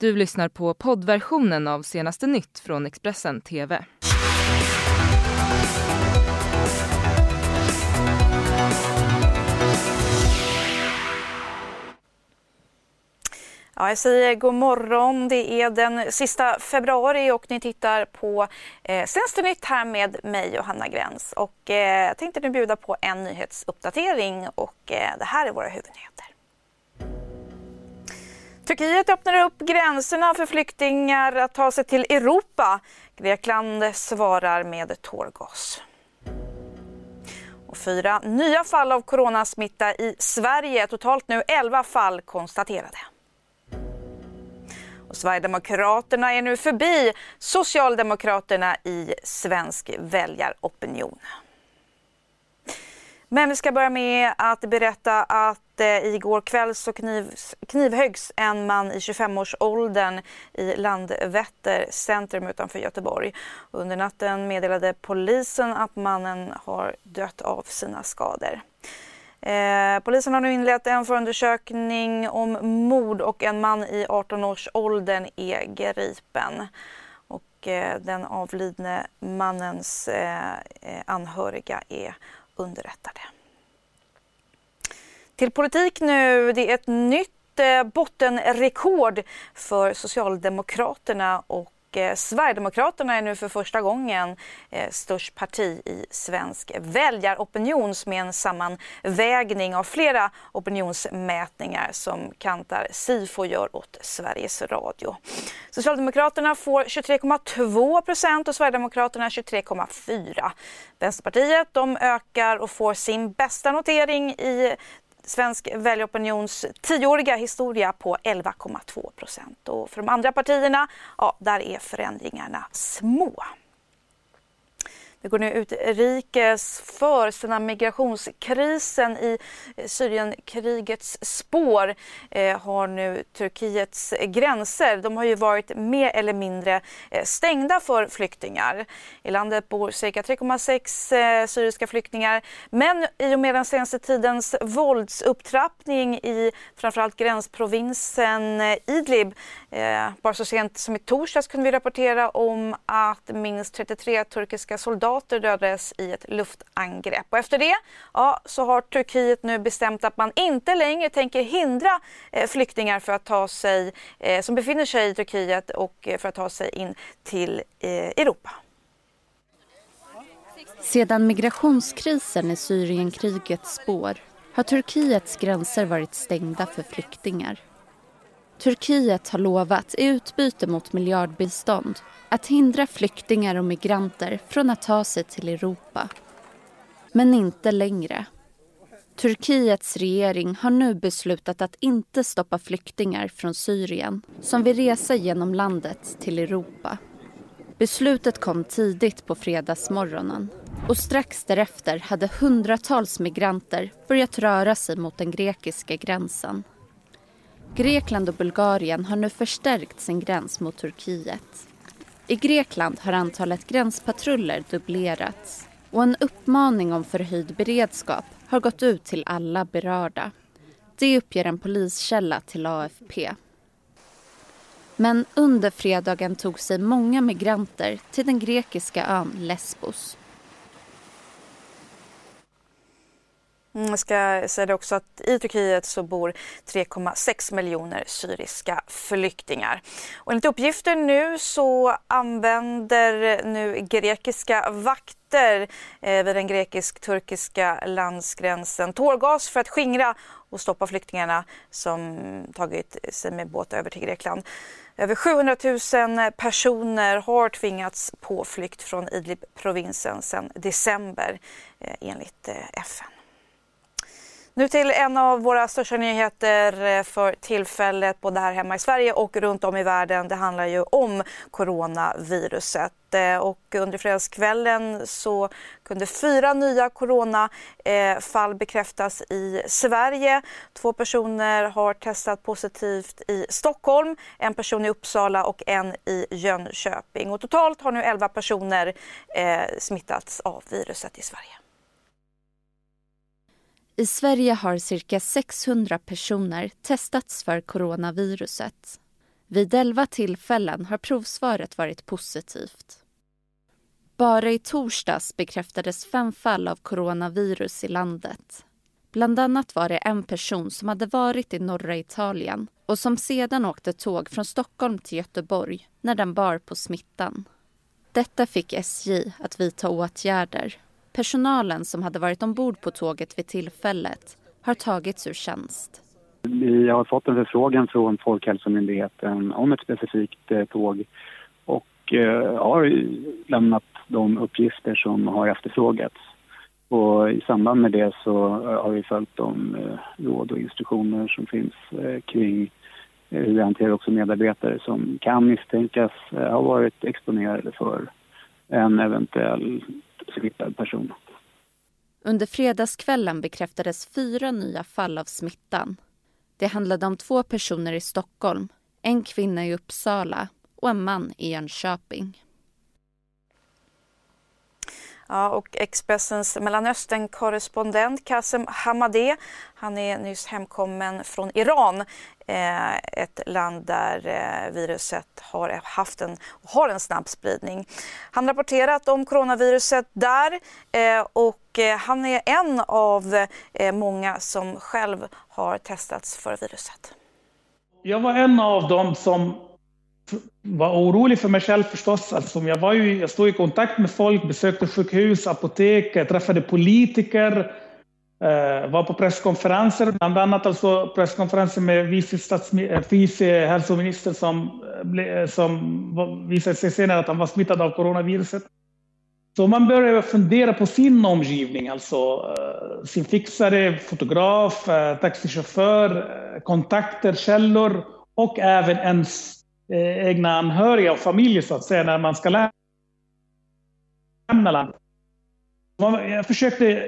Du lyssnar på poddversionen av Senaste nytt från Expressen TV. Ja, jag säger god morgon. Det är den sista februari och ni tittar på Senaste nytt här med mig och Hanna Gräns. Och jag tänkte nu bjuda på en nyhetsuppdatering och det här är våra huvudnyheter. Turkiet öppnar upp gränserna för flyktingar att ta sig till Europa. Grekland svarar med tårgas. Och 4 nya fall av coronasmitta i Sverige. Totalt nu 11 fall konstaterade. Och Sverigedemokraterna är nu förbi Socialdemokraterna i svensk väljaropinion. Men vi ska börja med att berätta att igår kväll så knivhöggs en man i 25-årsåldern i Landvetter centrum utanför Göteborg. Under natten meddelade polisen att mannen har dött av sina skador. Polisen har nu inlett en förundersökning om mord och en man i 18-årsåldern är gripen. Och den avlidne mannens anhöriga är underrättade. Till politik nu, det är ett nytt bottenrekord för Socialdemokraterna och Sverigedemokraterna är nu för första gången störst parti i svensk väljaropinion med en sammanvägning av flera opinionsmätningar som Kantar Sifo gör åt Sveriges Radio. Socialdemokraterna får 23,2% och Sverigedemokraterna 23,4%. Vänsterpartiet de ökar och får sin bästa notering i svensk väljaropinions 10-åriga historia på 11,2%. Och för de andra partierna, ja, där är förändringarna små. Vi går nu utrikes för sedan migrationskrisen i Syrienkrigets spår har nu Turkiets gränser. De har ju varit mer eller mindre stängda för flyktingar. I landet bor cirka 3,6 syriska flyktingar. Men i och med den senaste tidens våldsupptrappning i framförallt gränsprovinsen Idlib, bara så sent som i torsdags kunde vi rapportera om att minst 33 turkiska soldater dödades i ett luftangrepp. Och efter det så har Turkiet nu bestämt att man inte längre tänker hindra flyktingar för att ta sig, som befinner sig i Turkiet och för att ta sig in till Europa. Sedan migrationskrisen i Syrienkrigets spår har Turkiets gränser varit stängda för flyktingar. Turkiet har lovat i utbyte mot miljardbistånd att hindra flyktingar och migranter från att ta sig till Europa. Men inte längre. Turkiets regering har nu beslutat att inte stoppa flyktingar från Syrien som vill resa genom landet till Europa. Beslutet kom tidigt på fredagsmorgonen och strax därefter hade hundratals migranter börjat röra sig mot den grekiska gränsen. Grekland och Bulgarien har nu förstärkt sin gräns mot Turkiet. I Grekland har antalet gränspatruller dubblerats och en uppmaning om förhöjd beredskap har gått ut till alla berörda. Det uppger en poliskälla till AFP. Men under fredagen tog sig många migranter till den grekiska ön Lesbos. Jag ska säga det också att i Turkiet så bor 3,6 miljoner syriska flyktingar. Och enligt uppgifter nu så använder nu grekiska vakter vid den grekisk-turkiska landsgränsen tårgas för att skingra och stoppa flyktingarna som tagit sig med båt över till Grekland. Över 700 000 personer har tvingats på flykt från Idlib-provinsen sedan december enligt FN. Nu till en av våra största nyheter för tillfället både här hemma i Sverige och runt om i världen. Det handlar ju om coronaviruset. Och under fredagskvällen så kunde 4 nya coronafall bekräftas i Sverige. 2 personer har testat positivt i Stockholm, en person i Uppsala och en i Jönköping. Och totalt har nu 11 personer smittats av viruset i Sverige. I Sverige har cirka 600 personer testats för coronaviruset. Vid 11 tillfällen har provsvaret varit positivt. Bara i torsdags bekräftades 5 fall av coronavirus i landet. Bland annat var det en person som hade varit i norra Italien och som sedan åkte tåg från Stockholm till Göteborg när den bar på smittan. Detta fick SJ att vidta åtgärder. Personalen som hade varit ombord på tåget vid tillfället har tagits ur tjänst. Vi har fått en förfrågan från Folkhälsomyndigheten om ett specifikt tåg och har lämnat de uppgifter som har efterfrågats. Och i samband med det så har vi följt de råd och instruktioner som finns kring hur vi hanterar också medarbetare som kan misstänkas ha varit exponerade för en eventuell smittad person. Under fredagskvällen bekräftades 4 nya fall av smittan. Det handlade om 2 personer i Stockholm, en kvinna i Uppsala och en man i Jönköping. Ja, och Expressens Mellanöstern-korrespondent Kasem Hamadeh, han är nyss hemkommen från Iran, ett land där viruset har en snabb spridning. Han har rapporterat om coronaviruset där och han är en av många som själv har testats för viruset. Jag var en av dem som var orolig för mig själv förstås. Alltså, jag stod i kontakt med folk, besökte sjukhus, apotek, träffade politiker, var på presskonferenser, bland annat alltså presskonferenser med vice hälsoministern som visade sig senare att han var smittad av coronaviruset. Så man börjar fundera på sin omgivning, alltså sin fixare, fotograf, taxichaufför, kontakter, källor och även ens egna anhöriga och familjer så att säga när man ska lämna landet. Jag försökte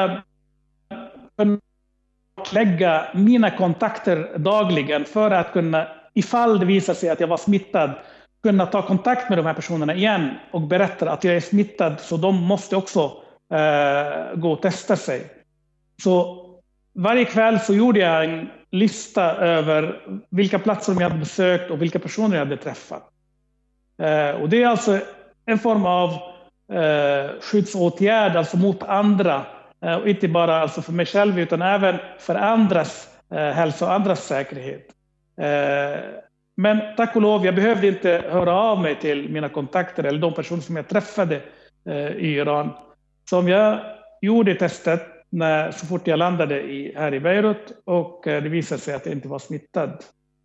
lägga mina kontakter dagligen för att kunna, ifall det visar sig att jag var smittad, kunna ta kontakt med de här personerna igen och berätta att jag är smittad, så de måste också gå och testa sig. Så varje kväll så gjorde jag en lista över vilka platser jag hade besökt och vilka personer jag hade träffat. Och det är alltså en form av skyddsåtgärd alltså mot andra. Och inte bara alltså för mig själv utan även för andras hälsa och andras säkerhet. Men tack och lov, jag behövde inte höra av mig till mina kontakter eller de personer som jag träffade i Iran. Som jag gjorde testet så fort jag landade här i Beirut och det visade sig att jag inte var smittad.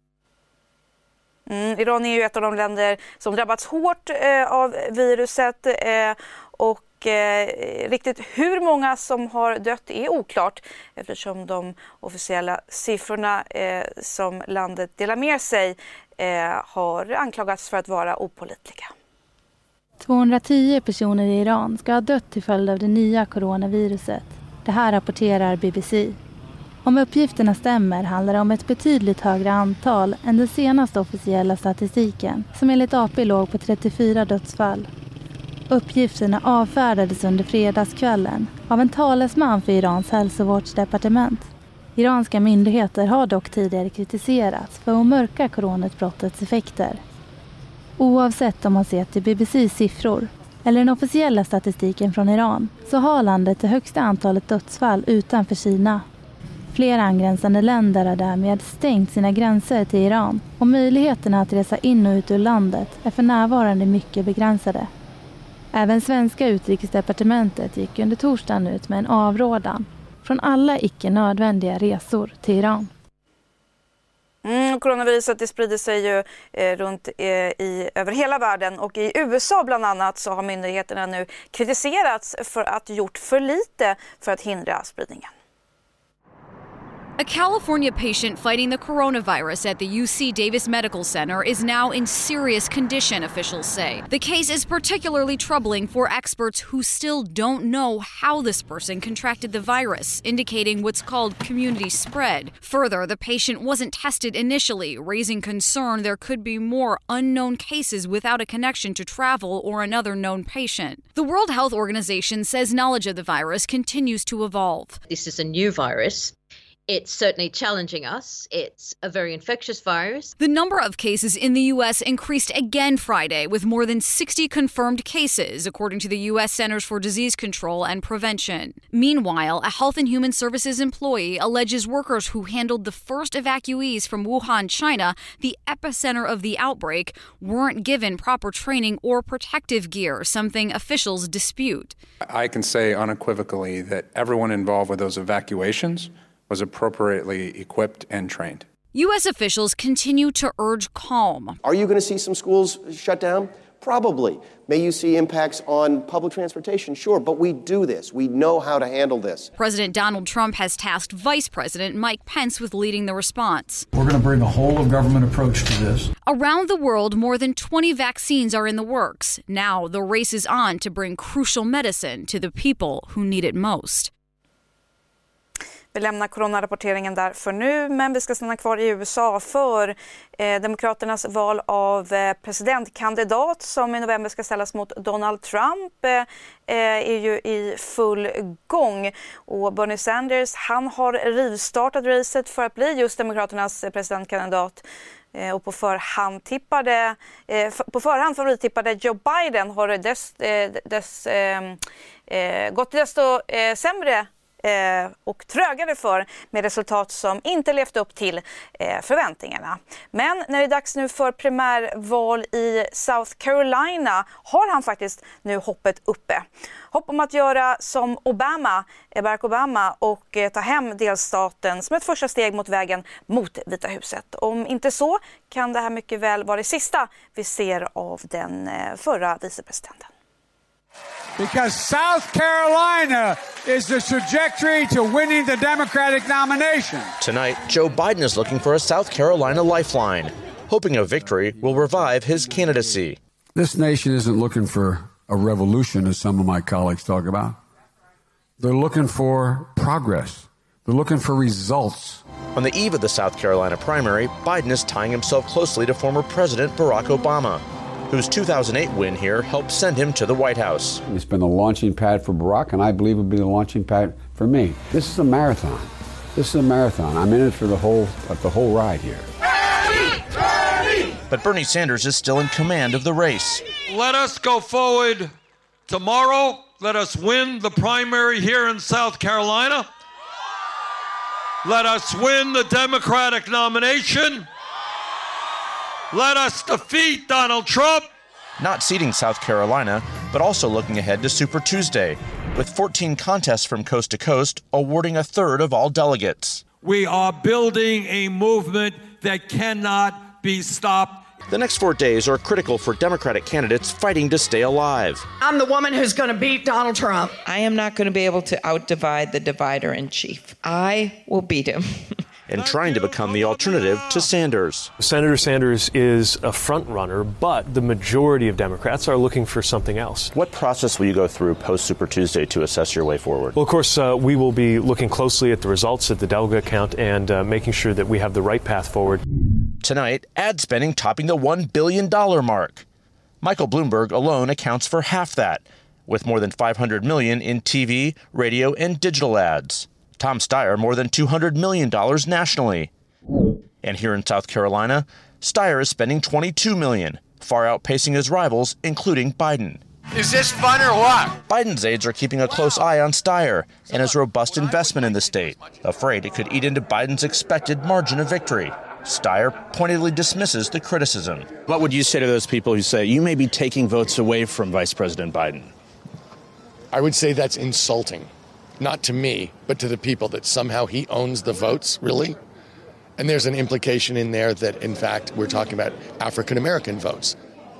Iran är ju ett av de länder som drabbats hårt av viruset och riktigt hur många som har dött är oklart eftersom de officiella siffrorna som landet delar med sig har anklagats för att vara opålitliga. 210 personer i Iran ska ha dött till följd av det nya coronaviruset. Det här rapporterar BBC. Om uppgifterna stämmer handlar det om ett betydligt högre antal än den senaste officiella statistiken som enligt AP låg på 34 dödsfall. Uppgifterna avfärdades under fredagskvällen av en talesman för Irans hälsovårdsdepartement. Iranska myndigheter har dock tidigare kritiserats för att mörka coronautbrottets effekter. Oavsett om man ser till BBC:s siffror eller den officiella statistiken från Iran så har landet det högsta antalet dödsfall utanför Kina. Flera angränsande länder har därmed stängt sina gränser till Iran och möjligheterna att resa in och ut ur landet är för närvarande mycket begränsade. Även svenska utrikesdepartementet gick under torsdagen ut med en avrådan från alla icke nödvändiga resor till Iran. Coronaviruset det sprider sig ju runt över hela världen och i USA bland annat så har myndigheterna nu kritiserats för att ha gjort för lite för att hindra spridningen. A California patient fighting the coronavirus at the UC Davis Medical Center is now in serious condition, officials say. The case is particularly troubling for experts who still don't know how this person contracted the virus, indicating what's called community spread. Further, the patient wasn't tested initially, raising concern there could be more unknown cases without a connection to travel or another known patient. The World Health Organization says knowledge of the virus continues to evolve. This is a new virus. It's certainly challenging us. It's a very infectious virus. The number of cases in the U.S. increased again Friday, with more than 60 confirmed cases, according to the U.S. Centers for Disease Control and Prevention. Meanwhile, a Health and Human Services employee alleges workers who handled the first evacuees from Wuhan, China, the epicenter of the outbreak, weren't given proper training or protective gear, something officials dispute. I can say unequivocally that everyone involved with those evacuations was appropriately equipped and trained. U.S. officials continue to urge calm. Are you going to see some schools shut down? Probably. May you see impacts on public transportation? Sure, but we do this. We know how to handle this. President Donald Trump has tasked Vice President Mike Pence with leading the response. We're going to bring a whole-of-government approach to this. Around the world, more than 20 vaccines are in the works. Now the race is on to bring crucial medicine to the people who need it most. Vi lämnar coronarapporteringen där för nu, men vi ska stanna kvar i USA för Demokraternas val av presidentkandidat som i november ska ställas mot Donald Trump är ju i full gång. Och Bernie Sanders, han har rivstartat racet för att bli just Demokraternas presidentkandidat. Och på förhand favorittippade Joe Biden har gått desto sämre och trögare för med resultat som inte levt upp till förväntningarna. Men när det är dags nu för primärval i South Carolina har han faktiskt nu hoppet uppe. Hopp om att göra som Barack Obama och ta hem delstaten som ett första steg mot vägen mot Vita huset. Om inte så kan det här mycket väl vara det sista vi ser av den förra vicepresidenten. Because South Carolina is the trajectory to winning the Democratic nomination. Tonight, Joe Biden is looking for a South Carolina lifeline, hoping a victory will revive his candidacy. This nation isn't looking for a revolution, as some of my colleagues talk about. They're looking for progress. They're looking for results. On the eve of the South Carolina primary, Biden is tying himself closely to former President Barack Obama, whose 2008 win here helped send him to the White House. It's been the launching pad for Barack, and I believe it will be the launching pad for me. This is a marathon. I'm in it for the whole ride here. But Bernie Sanders is still in command of the race. Let us go forward tomorrow. Let us win the primary here in South Carolina. Let us win the Democratic nomination. Let us defeat Donald Trump. Not ceding South Carolina, but also looking ahead to Super Tuesday, with 14 contests from coast to coast awarding a third of all delegates. We are building a movement that cannot be stopped. The next 4 days are critical for Democratic candidates fighting to stay alive. I'm the woman who's going to beat Donald Trump. I am not going to be able to outdivide the divider-in-chief. I will beat him. And trying to become the alternative to Sanders. Senator Sanders is a front-runner, but the majority of Democrats are looking for something else. What process will you go through post-Super Tuesday to assess your way forward? Well, of course, we will be looking closely at the results at the delegate count and making sure that we have the right path forward. Tonight, ad spending topping the $1 billion mark. Michael Bloomberg alone accounts for half that, with more than $500 million in TV, radio, and digital ads. Tom Steyer more than $200 million nationally. And here in South Carolina, Steyer is spending $22 million, far outpacing his rivals, including Biden. Is this fun or what? Biden's aides are keeping a close eye on Steyer and his robust investment in the state, afraid it could eat into Biden's expected margin of victory. Steyer pointedly dismisses the criticism. What would you say to those people who say you may be taking votes away from Vice President Biden? I would say that's insulting. Not to me, but to the people, that somehow he owns the votes, really? And there's an implication in there that, in fact, we're talking about African-American votes.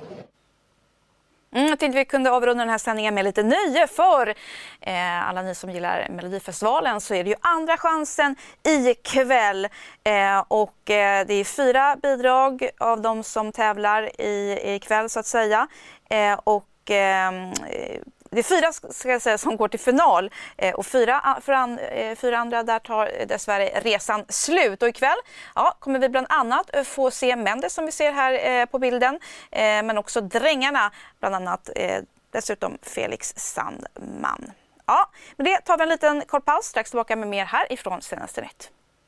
Jag tänkte vi kunde avrunda den här sändningen med lite nöje för alla ni som gillar Melodifestivalen, så är det ju andra chansen ikväll. Och det är 4 bidrag av de som tävlar ikväll så att säga. Och det är 4 ska jag säga som går till final och 4 andra där tar dessvärre resan slut. Och ikväll kommer vi bland annat få se Mendes som vi ser här på bilden, men också Drängarna, bland annat dessutom Felix Sandman. Ja, men det tar vi en liten kort paus, strax tillbaka med mer här ifrån Senaste Nytt.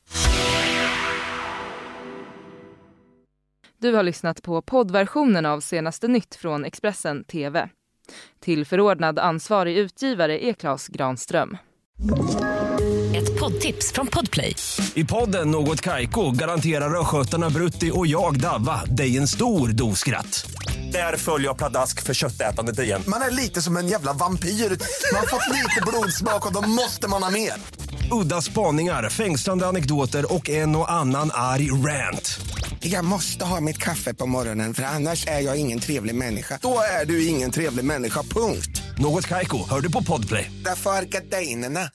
Du har lyssnat på poddversionen av Senaste nytt från Expressen TV. Till förordnad ansvarig utgivare är Claes Granström. Ett poddtips från Podplay. I podden Något Kaiko garanterar röskötarna Brutti och jag Davva dig en stor doskratt. Där följer jag pladask för köttätandet igen. Man är lite som en jävla vampyr. Man har fått lite blodsmak och då måste man ha mer. Udda spaningar, fängslande anekdoter och en och annan arg rant. Jag måste ha mitt kaffe på morgonen för annars är jag ingen trevlig människa. Då är du ingen trevlig människa, punkt. Något Kaiko, hör du på Podplay. Därför är gardinerna.